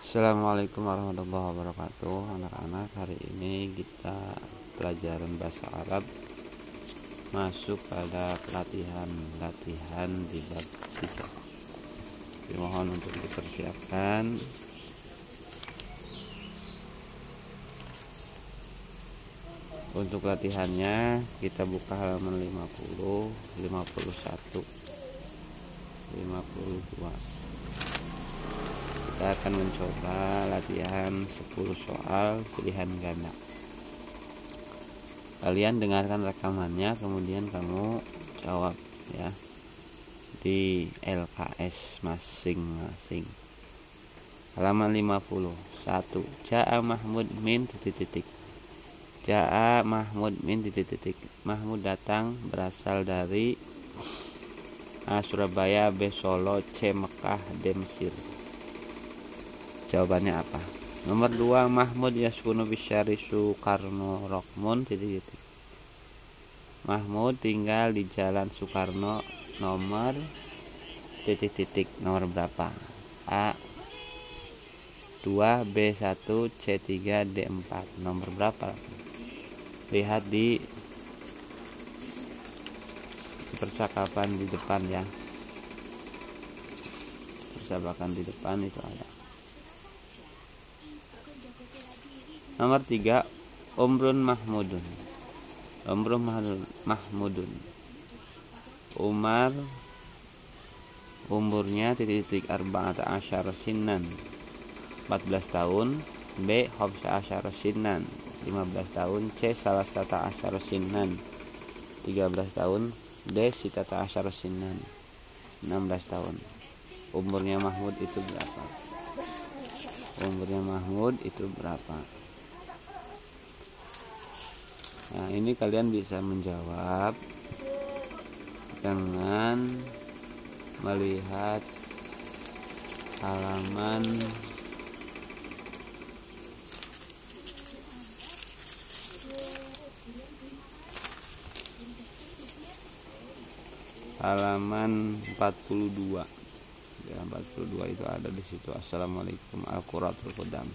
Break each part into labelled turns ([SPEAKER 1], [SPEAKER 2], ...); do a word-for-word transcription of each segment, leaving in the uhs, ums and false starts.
[SPEAKER 1] Assalamualaikum warahmatullahi wabarakatuh. Anak-anak, hari ini kita pelajaran bahasa Arab masuk pada pelatihan latihan di bab tiga. Dimohon untuk dipersiapkan. Untuk latihannya kita buka halaman lima puluh, lima puluh satu, lima puluh dua. Kita akan mencoba latihan sepuluh soal pilihan ganda. Kalian dengarkan rekamannya, kemudian kamu jawab ya di L K S masing-masing. Halaman lima puluh satu. Ja'a Mahmud min titik-titik. Ja'a Mahmud min titik-titik. Mahmud datang, berasal dari A. Surabaya, B. Solo, C. Mekah, D. Mesir. Jawabannya apa? Nomor dua, Mahmud yaskunu bisyari Soekarno Rokmun titik-titik. Mahmud tinggal di Jalan Soekarno nomor titik-titik. Nomor berapa? A dua, B satu, C tiga, D empat. Nomor berapa? Lihat di percakapan di depan ya. Percakapan di depan itu ada. Nomor tiga, Umrun Mahmudun. Umrun Mahmudun. Umar umurnya titik-titik arba'ata asyara sinan, empat belas tahun. B. khamsa asyara sinan, lima belas tahun. C. salasata asyara sinan, tiga belas tahun. D. sitata asyara sinan, enam belas tahun. Umurnya Mahmud itu berapa? Umurnya Mahmud itu berapa? Nah, ini kalian bisa menjawab dengan melihat halaman halaman empat puluh dua. Ya, empat puluh dua itu ada di situ. Assalamualaikum Al-Quratul Qudam.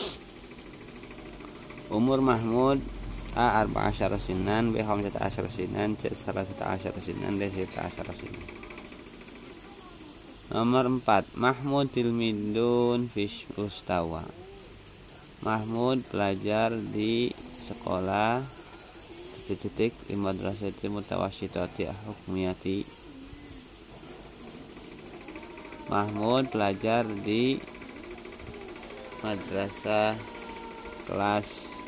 [SPEAKER 1] Umur Mahmud A. arba'a asyara sinan, B. khamsata asyara sinan, C. salasata asyara sinan, D. sita asyara sinan. Nomor empat, Mahmud tilmidun fish mustawa. Mahmud pelajar di sekolah titik-titik di madrasati mutawasyitati hukmiyati. Mahmud pelajar di madrasah kelas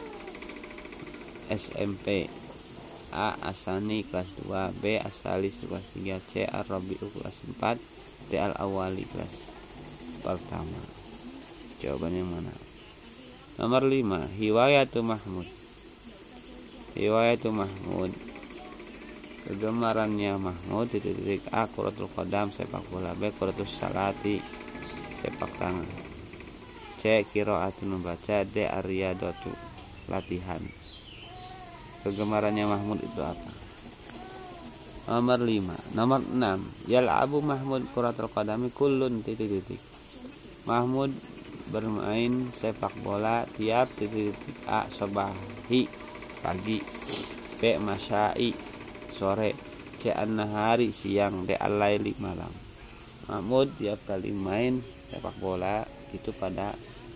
[SPEAKER 1] S M P. A. Asani kelas dua, B. Asalis kelas tiga, C. Ar-Rabi'u kelas empat, D. Al-Awali kelas pertama. Jawabannya mana? Nomor lima, Hiwayatu Mahmud. Hiwayatu Mahmud, kegemarannya Mahmud titik-titik. A. Kuratul Qadam, sepak bola. B. Kuratus Salati, sepak tangan. C. Qiraatun, membaca. D. Ar-Riyadatu, latihan. Kegemarannya Mahmud itu apa? Nomor lima. Nomor enam, Yal'abu Mahmud kuratul qadami kullun titik-titik. Mahmud bermain sepak bola tiap titik-titik. A. Sobahi, pagi. B. Masyai, sore. C. An-nahari, siang. D. Al-laili, malam. Mahmud tiap kali main sepak bola itu pada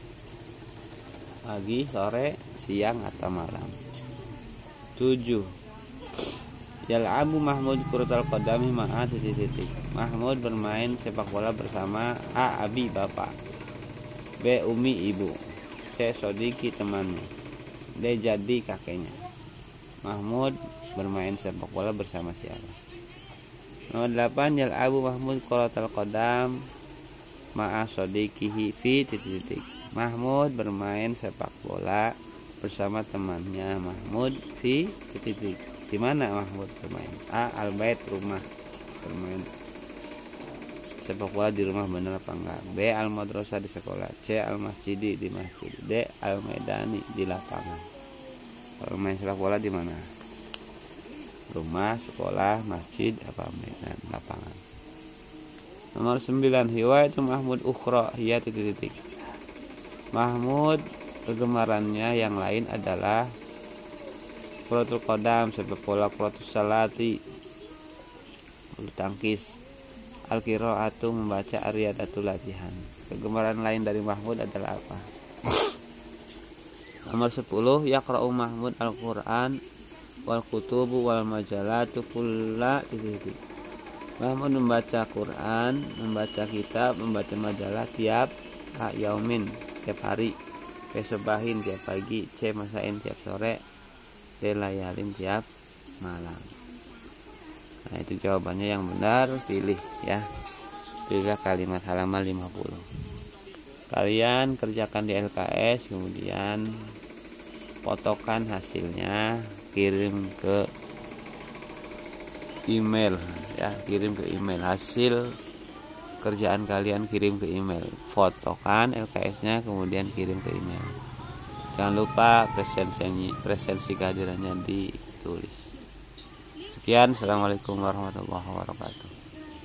[SPEAKER 1] pagi, sore, siang, atau malam. tujuh. Yal'abu Mahmud kuratul qadami ma'a titik-titik. Mahmud bermain sepak bola bersama A. Abi, bapak. B. Umi, ibu. C. Sodiki, temannya. D. Jadi, kakeknya. Mahmud bermain sepak bola bersama siapa? Nomor delapan, Yal'abu Mahmud kuratul qadam ma'a sodikihi fi titik-titik. Mahmud bermain sepak bola bersama temannya Mahmud di titik. Di mana Mahmud bermain? A. Al-bait, rumah, bermain sepak bola di rumah, benar apa enggak? B. Al-madrasah, di sekolah. C. Al-masjidi, di masjid. D. Al-maidani, di lapangan. Kalau main sepak bola di mana? Rumah, sekolah, masjid, apa mainan, lapangan. Nomor sembilan, Hiwayatu Mahmud ukhra hiya titik-titik. Mahmud kegemarannya yang lain adalah Kuratul Qadam, sepak bola, Kuratus Salati, bulu tangkis, Al-Qiraatu membaca, Ar-Riyadatul latihan. Kegemaran lain dari Mahmud adalah apa? Nomor sepuluh, yaqra'u Mahmud Al-Qur'an wal kutubu wal majalatu kulla titik. Mahmud membaca Quran, membaca kitab, membaca majalah tiap yaumin, tiap hari, pesobahin tiap pagi, c masain tiap sore, d layalin tiap malam. Nah, itu jawabannya yang benar, pilih ya. Pilihlah kalimat halaman lima puluh. Kalian kerjakan di L K S, kemudian fotokan hasilnya, kirim ke email ya, kirim ke email hasil kerjaan kalian, kirim ke email, fotokan L K S-nya kemudian kirim ke email. Jangan lupa presensi presensi kehadirannya ditulis. Sekian, assalamualaikum warahmatullahi wabarakatuh.